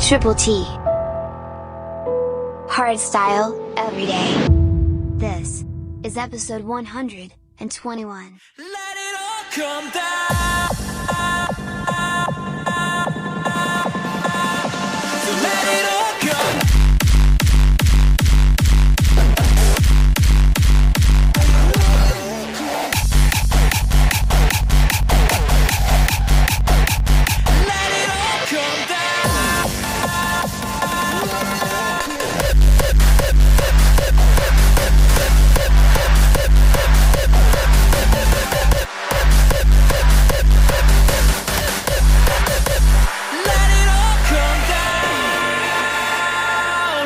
Triple T. Hardstyle, every day. This is episode 121. Let it all come down. So let it all come. Let it all come down. Let it all come down.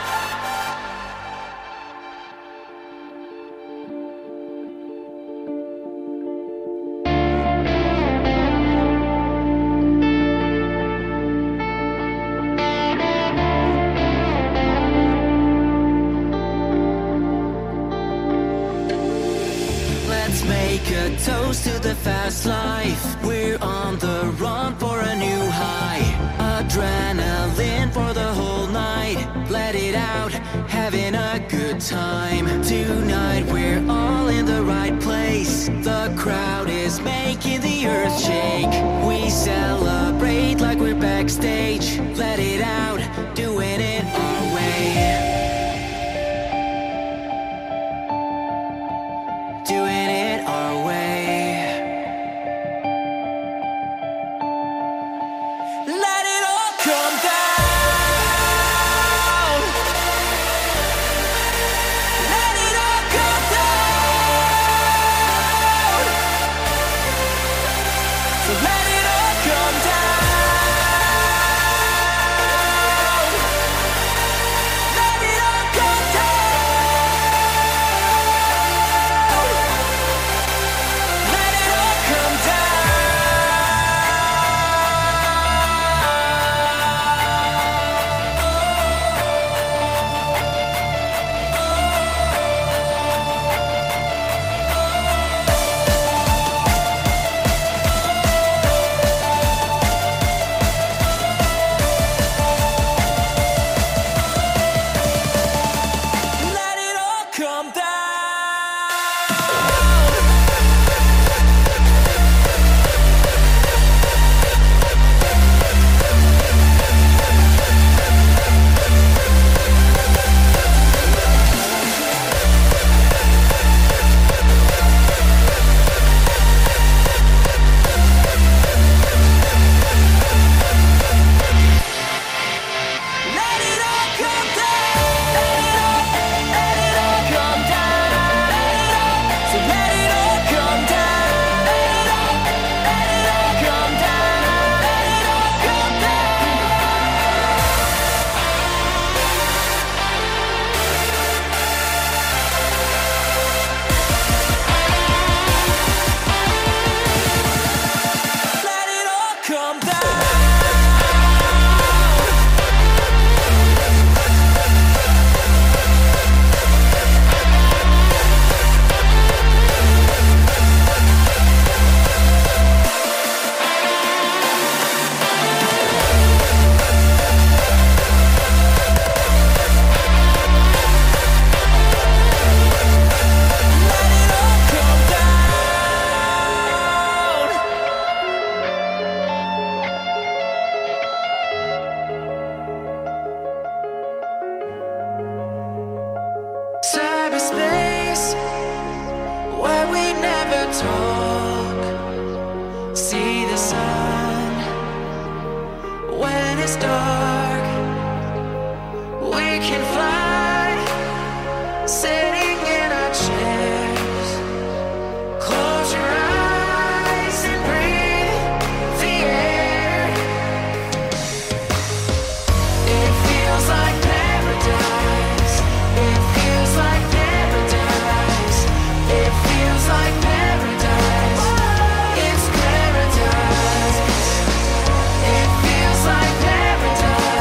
Let's make a toast to the fast life. We're on the run for a new high. Adrenaline for the whole night. Let it out, having a good time. Tonight we're all in the right place. The crowd is making the earth shake. We celebrate like we're backstage. Let it out, doing it our way. Doing it our way. Let it all come down. Let it all come down. So let it all come down. Let it all come down. Let it all come Let it all come down. Let it all come down. Let it all come down. So let it all come down. Let it all come down. Let it all come down. Let it all come down. Let it all come down. Cyberspace, where we never talk. See the sun when it's dark. We can fly, sitting in our chairs. Close your eyes and breathe the air. It feels like paradise. It feels like paradise. It feels like paradise. It's paradise. It feels like paradise.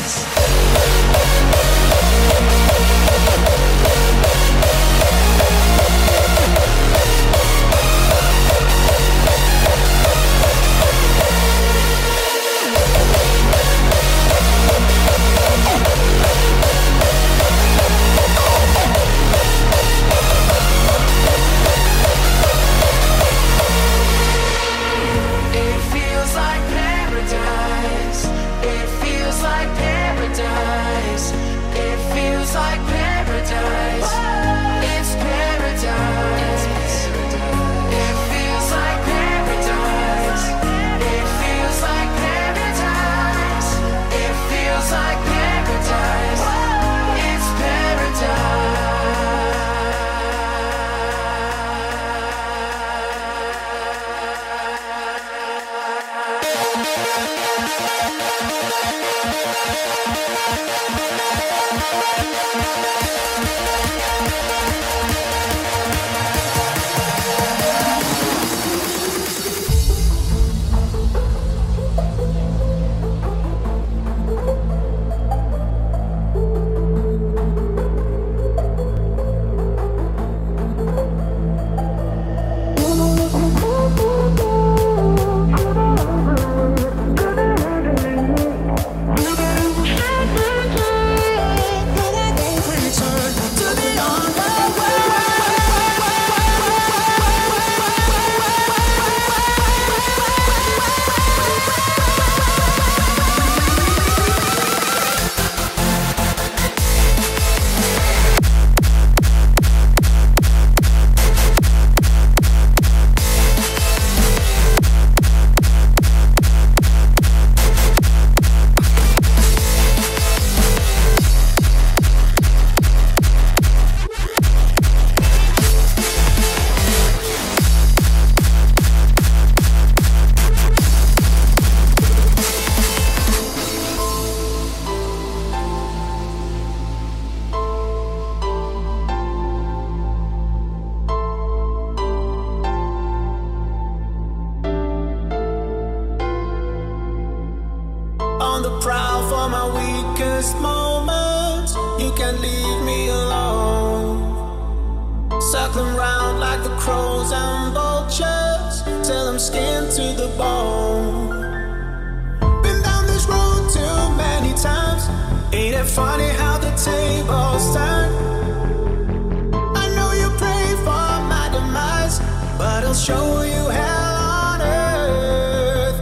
On the prowl for my weakest moments, you can't leave me alone. Circling round like the crows and vultures, till I'm skinned to the bone. Been down this road too many times. Ain't it funny how the tables turn? I know you pray for my demise, but I'll show you hell on earth.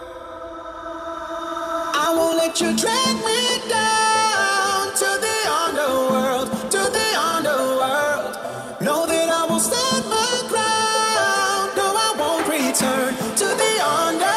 I won't let you drag me down to the underworld, to the underworld. Know that I will stand my ground. No, I won't return to the underworld.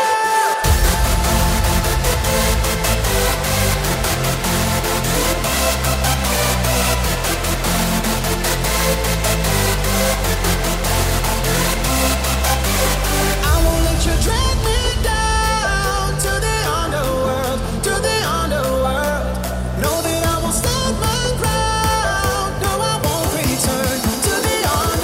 I won't let you drag me down to the underworld, to the underworld. Know that I will stand my ground. No, I won't return to the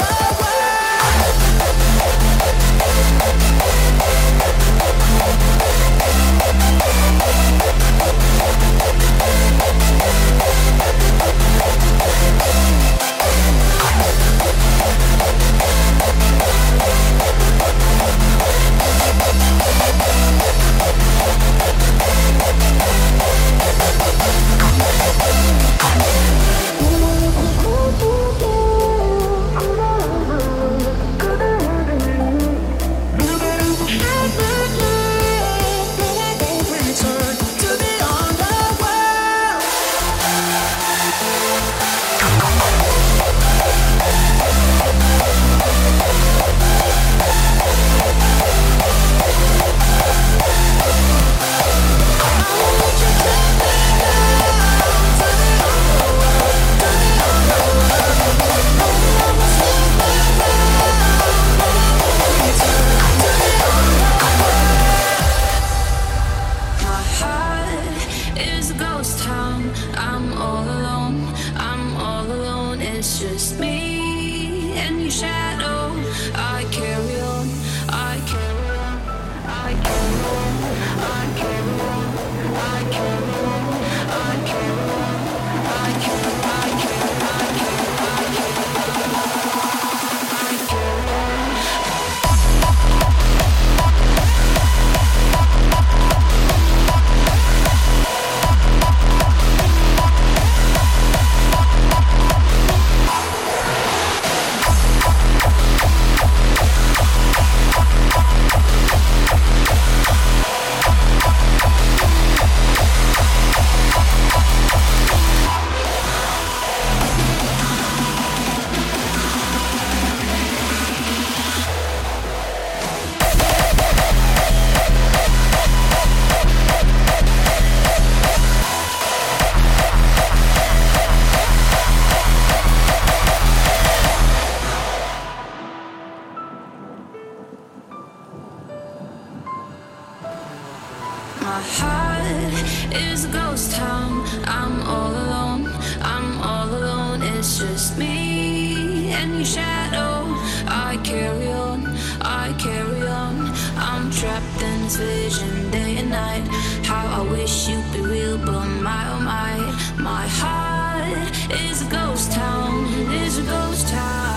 it's just me and your shadow. I carry on, I carry on, I carry on, I carry on, I carry on. is a ghost town. I'm all alone, I'm all alone. It's just me and your shadow. I carry on, I carry on. I'm trapped in this vision day and night. How I wish you'd be real, but my oh my heart is a ghost town, is a ghost town.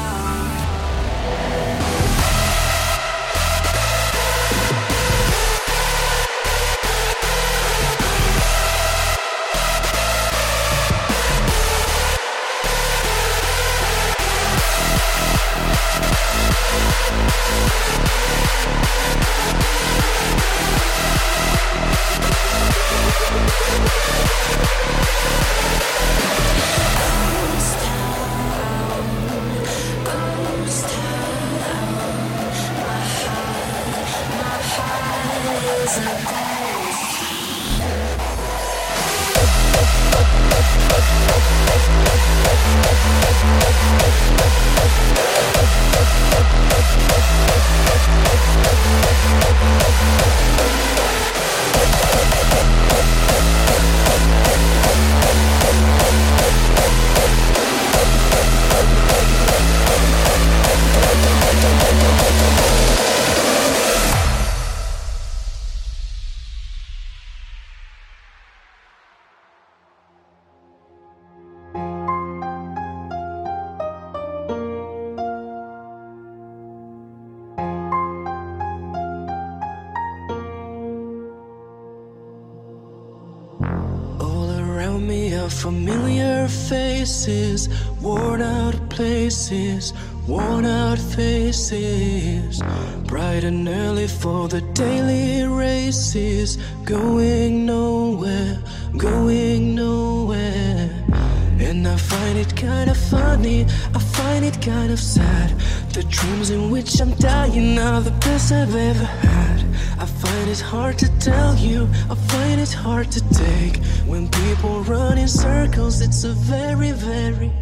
Familiar faces, worn out places, worn out faces. Bright and early for the daily races, going nowhere, going nowhere. And I find it kind of funny, I find it kind of sad. The dreams in which I'm dying are the best I've ever had. I find it hard to tell you, I find it hard to take. When people run in circles, it's a very, very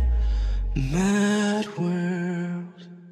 mad world.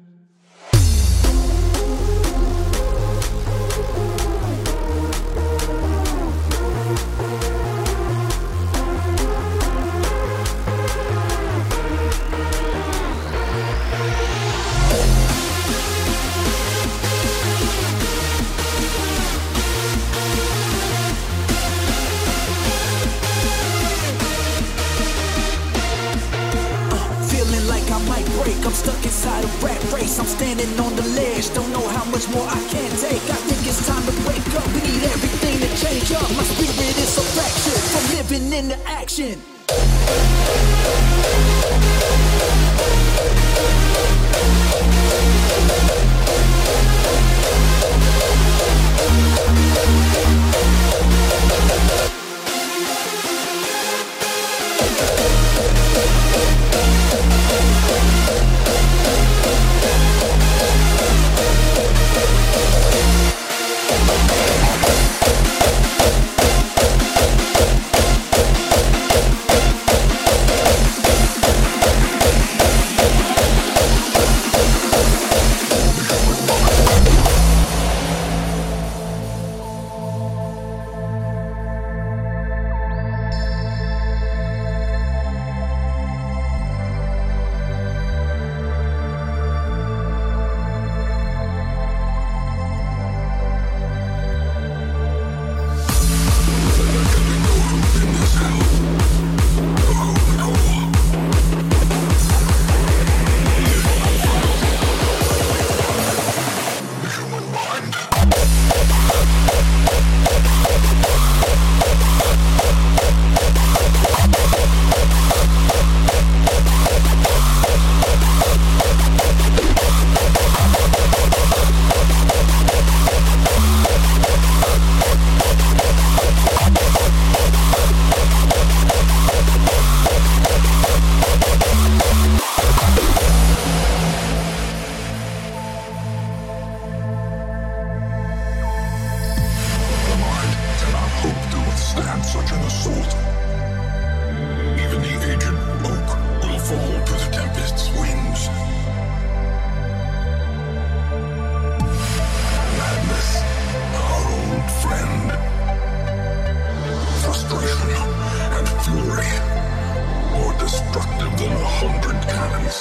I'm stuck inside a rat race. I'm standing on the ledge, don't know how much more I can take. I think it's time to wake up. We need everything to change up. My spirit is so fractured from living into action. Frustration fury, more destructive than 100 cannons.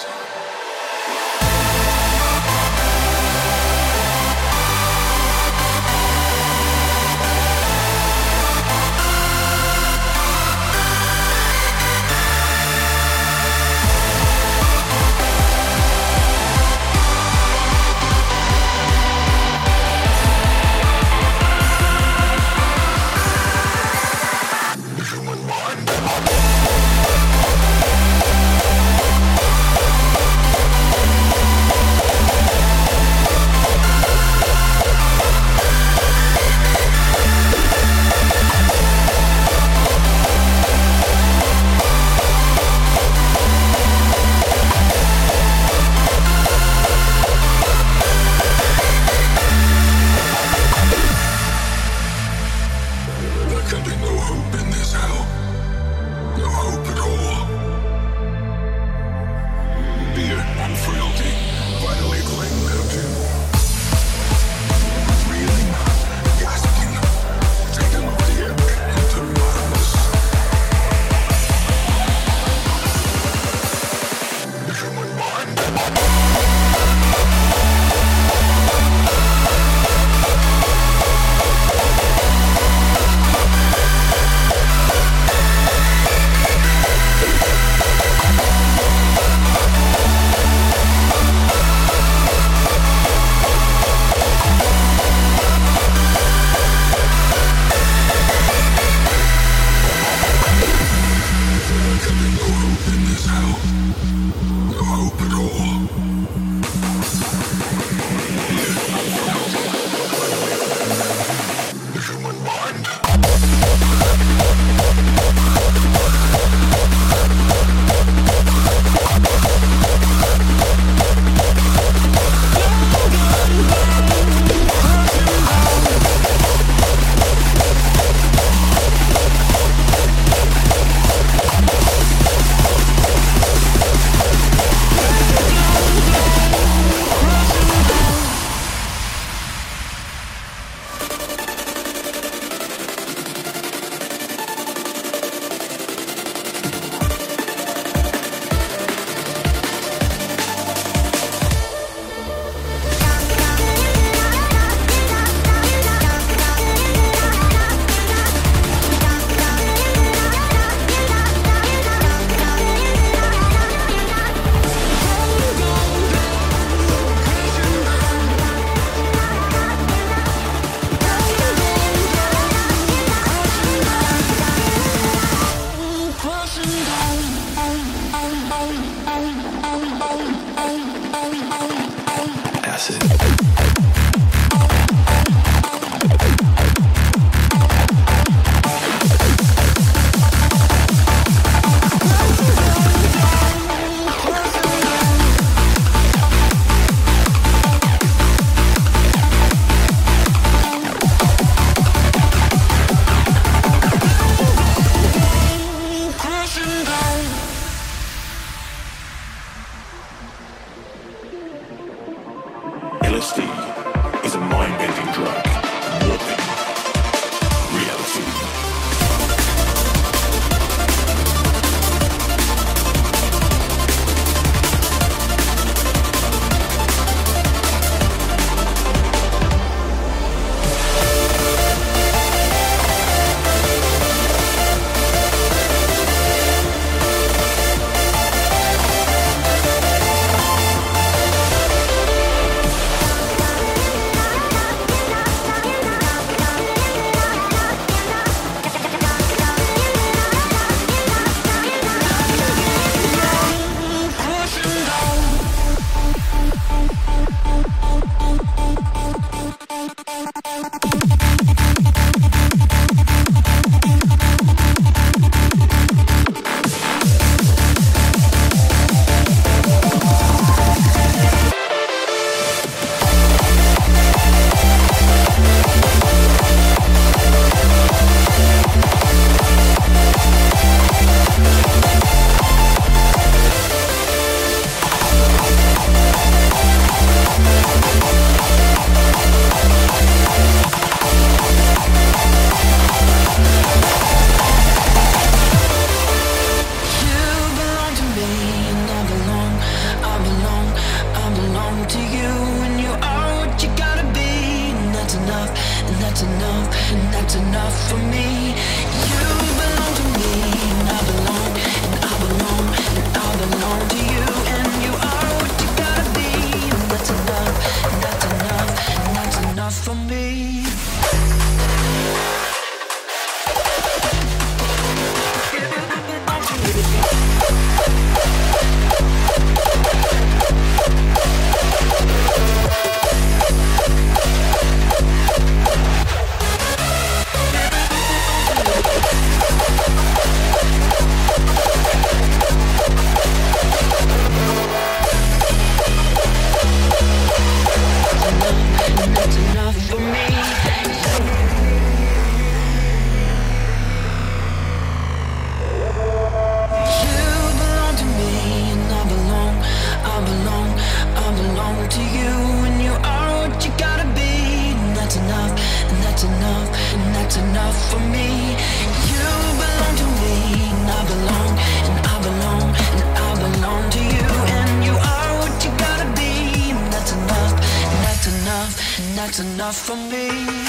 that's enough for me.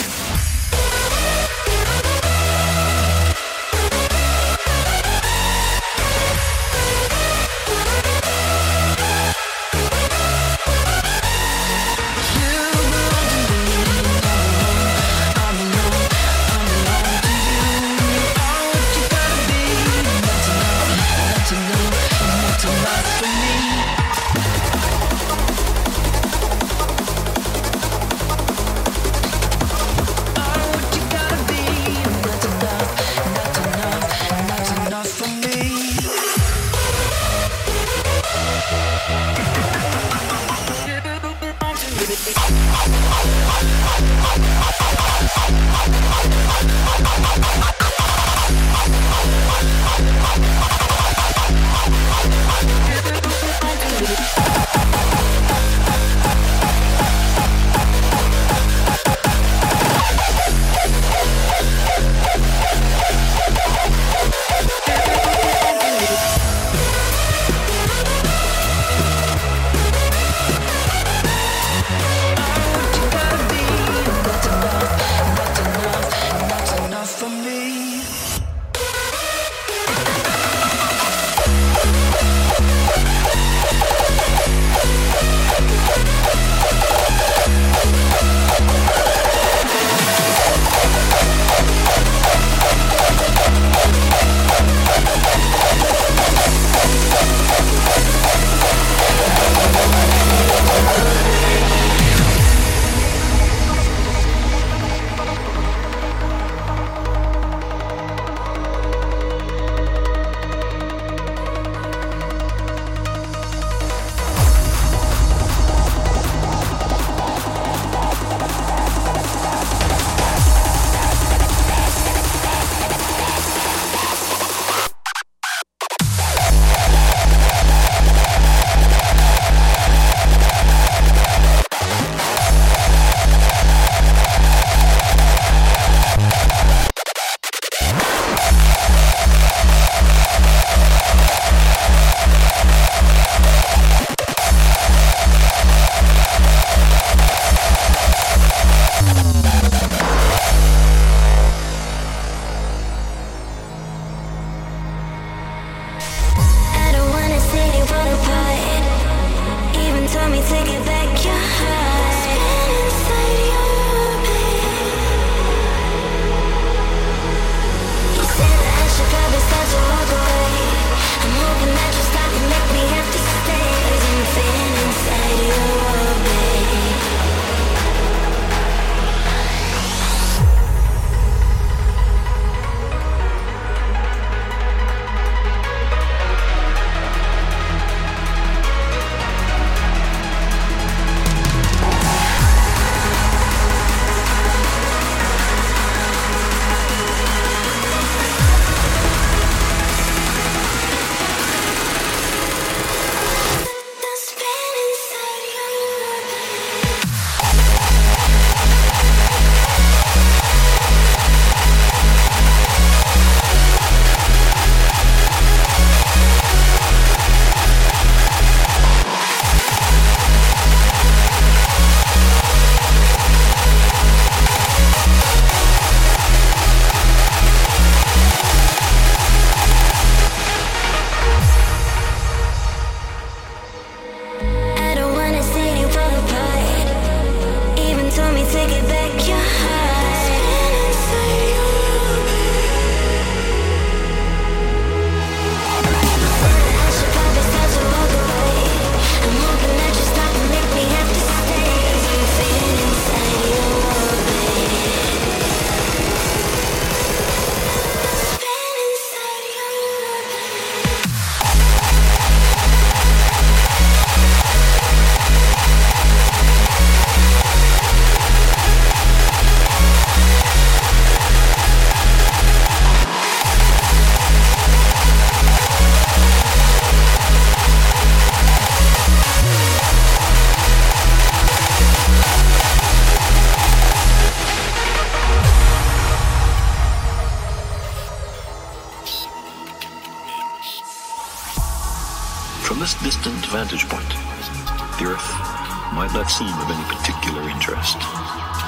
From this distant vantage point, the Earth might not seem of any particular interest.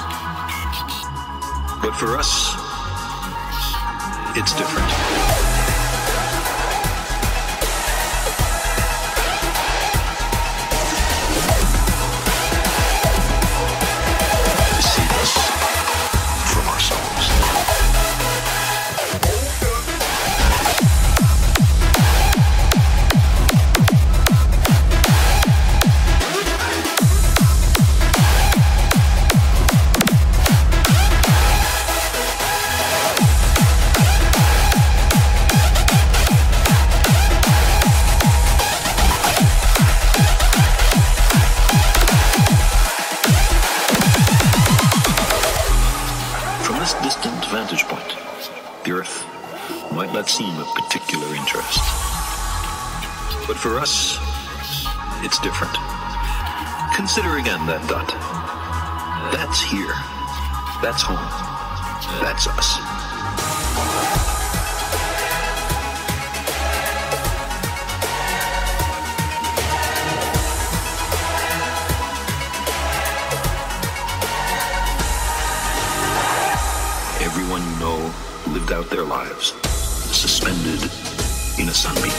But for us, it's different. Seem of particular interest. But for us, it's different. Consider again that dot. That's here. That's home. That's us. Everyone you know lived out their lives suspended in a sunbeam.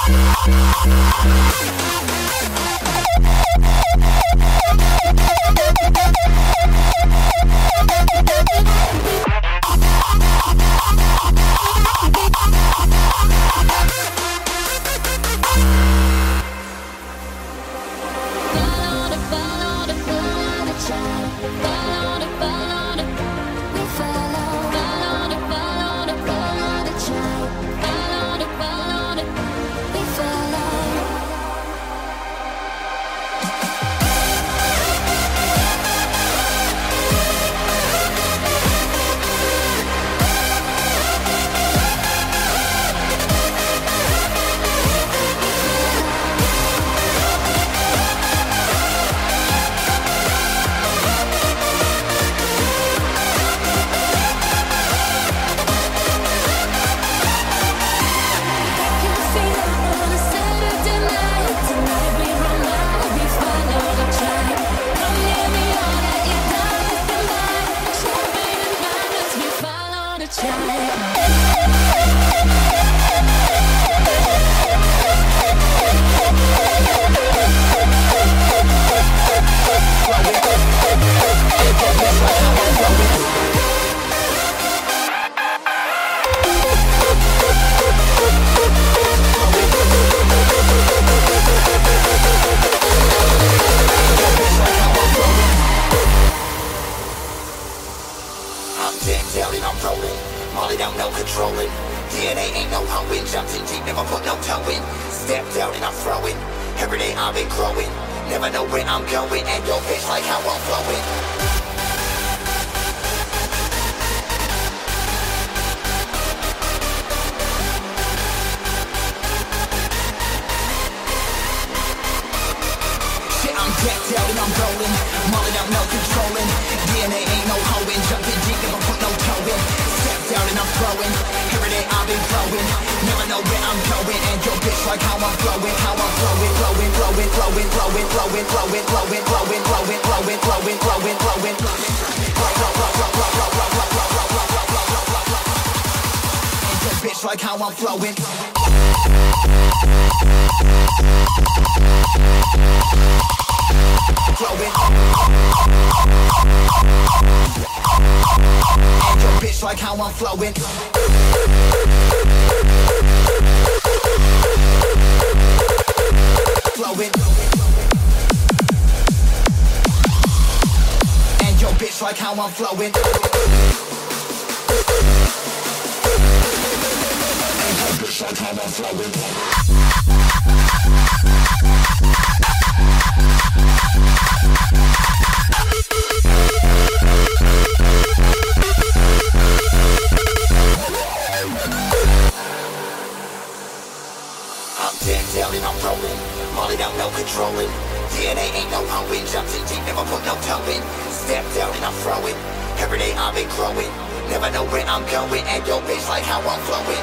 Like how I'm flowing. Flowing. And your bitch like how I'm flowing. Flowing. And your bitch like how I'm flowing. Like how I'm flowing. Molly down, no controlling. DNA ain't no hoeing. Jumped in deep, never put no toe in. Step down and I'm throwing. Every day I've been growing. Never know where I'm going. And your bitch like how I'm flowing.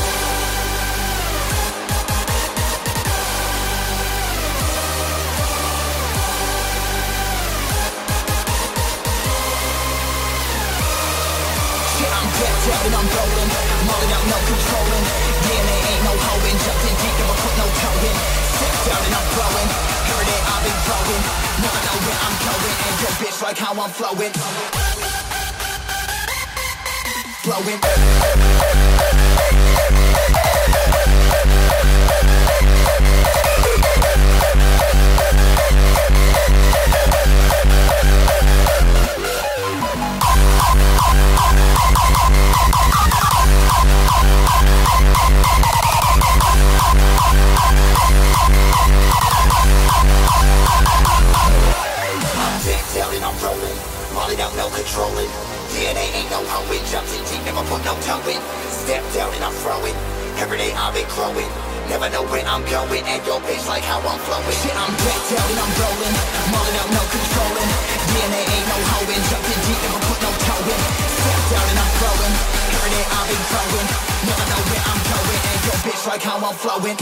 Down and I'm rolling, Molly out, no controlling. DNA ain't no hoeing, jumped in deep, never put no toe in. Step down and I'm growing, every day I've been growing. Never know where I'm going, and your bitch like how I'm flowing. Flowing. Molly down, no controlling. DNA ain't no hoeing. Jumped in deep, never put no toe in. Step down and I'm throwing. Every day I've been growing. Never know where I'm going. And your bitch like how I'm flowing. Shit, I'm decked out and I'm rolling. Molly out, no controlling. DNA ain't no hoeing. Jumped in deep, never put no toe in. Step down and I'm throwing. Every day I've been growing. Never know where I'm going. And your bitch like how I'm flowing.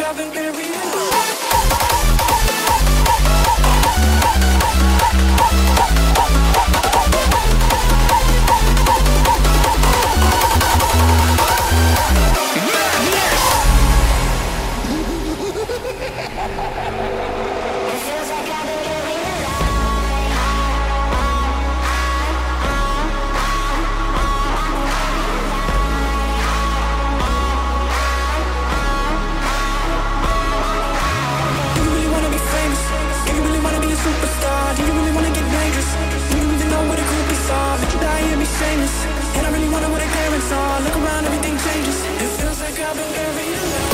I've been buried alive. And I really wonder what a parents are. Look around, everything changes. It feels like I've been buried alive.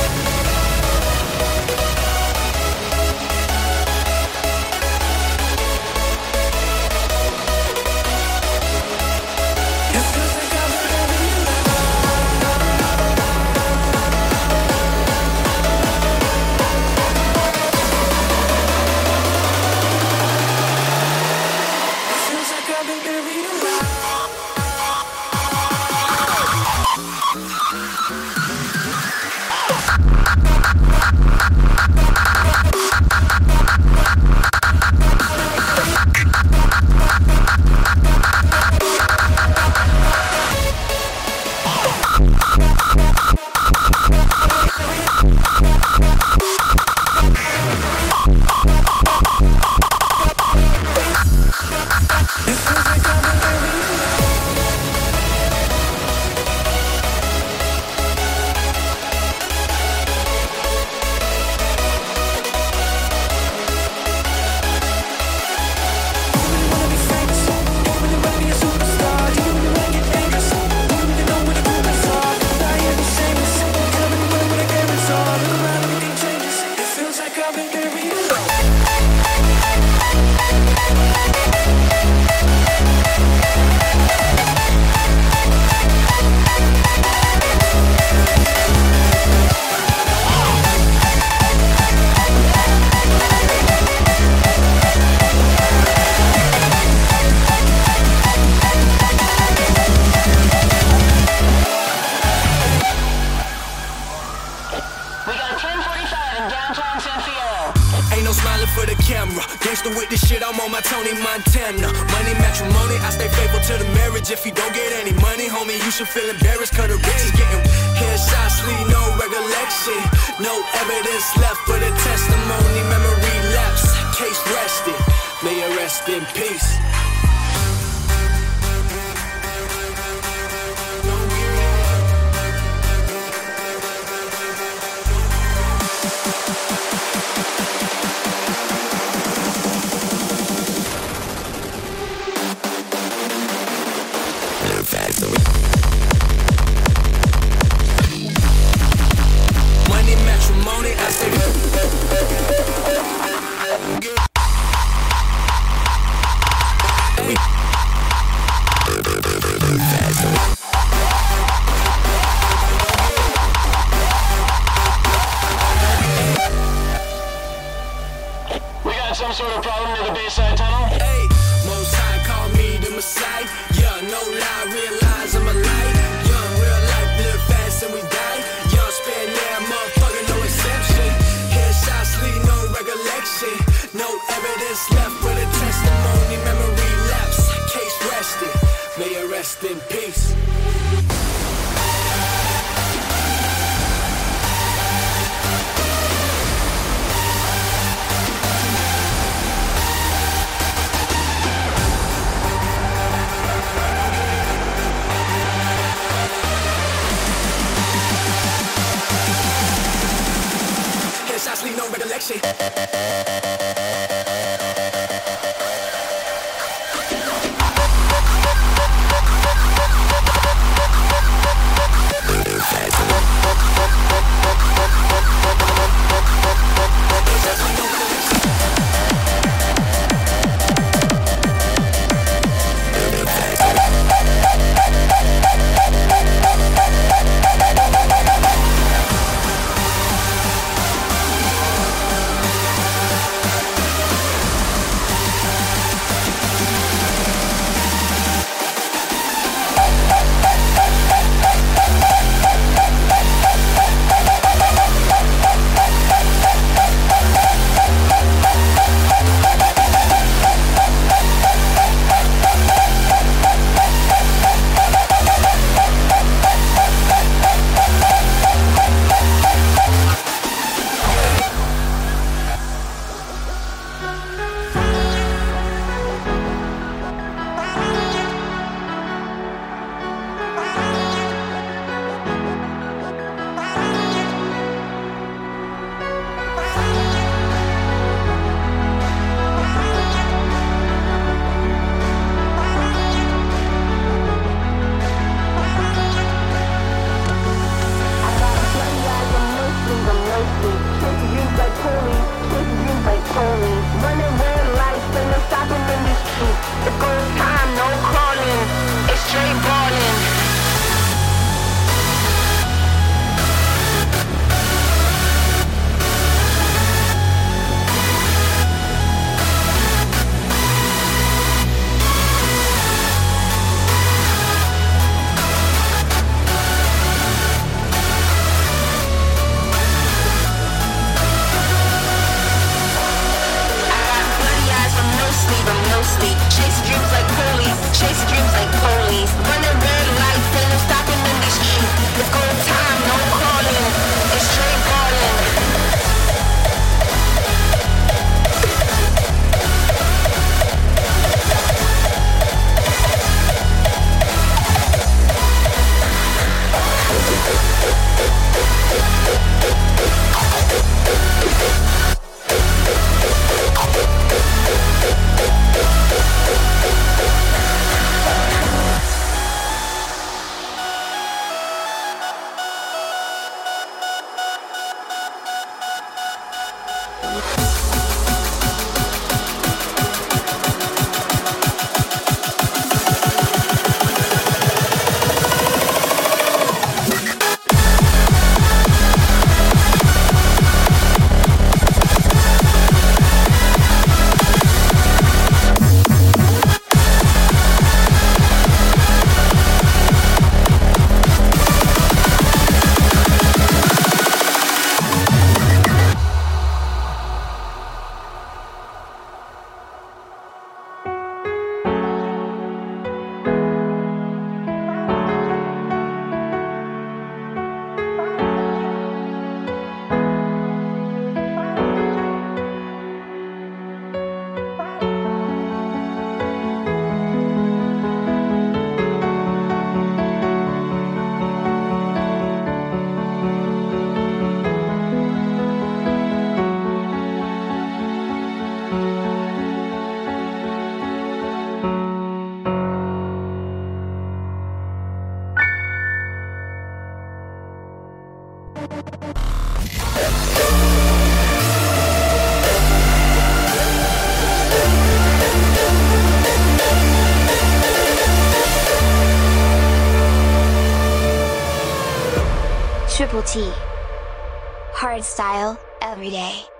With this shit, I'm on my Tony Montana. Money matrimony, I stay faithful to the marriage. If you don't get any money, homie, you should feel embarrassed. Cause the rich is getting headshots, leave no recollection. No evidence left for the testimony. Memory lapse, case rested. May it rest in peace. Money matrimony, I say we got some sort of problem with the Bayside Tunnel? Hey, Most High call me the Messiah. Yeah, no lie, realize I'm a light. Young, real life, live fast and we die. Young, spend that motherfucker, no exception. Headshots leave no recollection. No evidence left for the testimony. Memory lapse, case rested. May it rest in peace. Headshots leave no recollection. Triple T. Hardstyle, every day.